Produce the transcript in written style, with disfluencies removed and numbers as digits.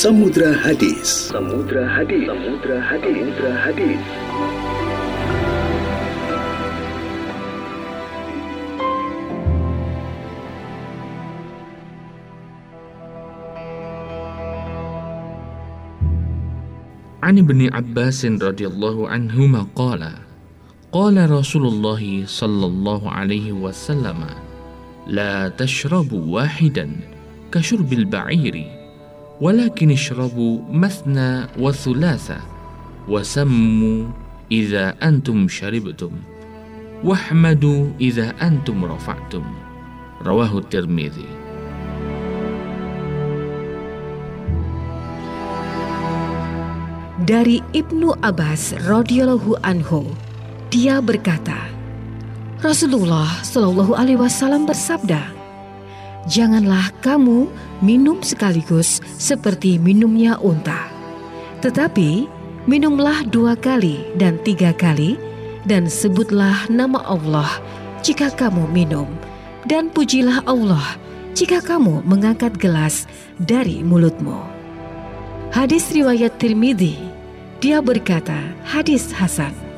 Samudra Hadis. Samudra Hadis. Samudra Hadis. Samudra Hadis. An Ibni Abbas radhiyallahu anhuma qala qala Rasulullah sallallahu alaihi wasallam la tashrabu wahidan kashurbil ba'iri walakin ishrabu mathna wa thulatha wasammu idza antum sharibtum wahmadu idza antum rafa'tum. Rawahu Tirmidzi. Dari Ibnu Abbas radhiyallahu anhu, dia berkata, Rasulullah Shallallahu alaihi wasallam bersabda, "Janganlah kamu minum sekaligus seperti minumnya unta, tetapi minumlah 2 kali dan 3 kali, dan sebutlah nama Allah jika kamu minum, dan pujilah Allah jika kamu mengangkat gelas dari mulutmu." Hadis riwayat Tirmidzi. Dia berkata, hadis hasan.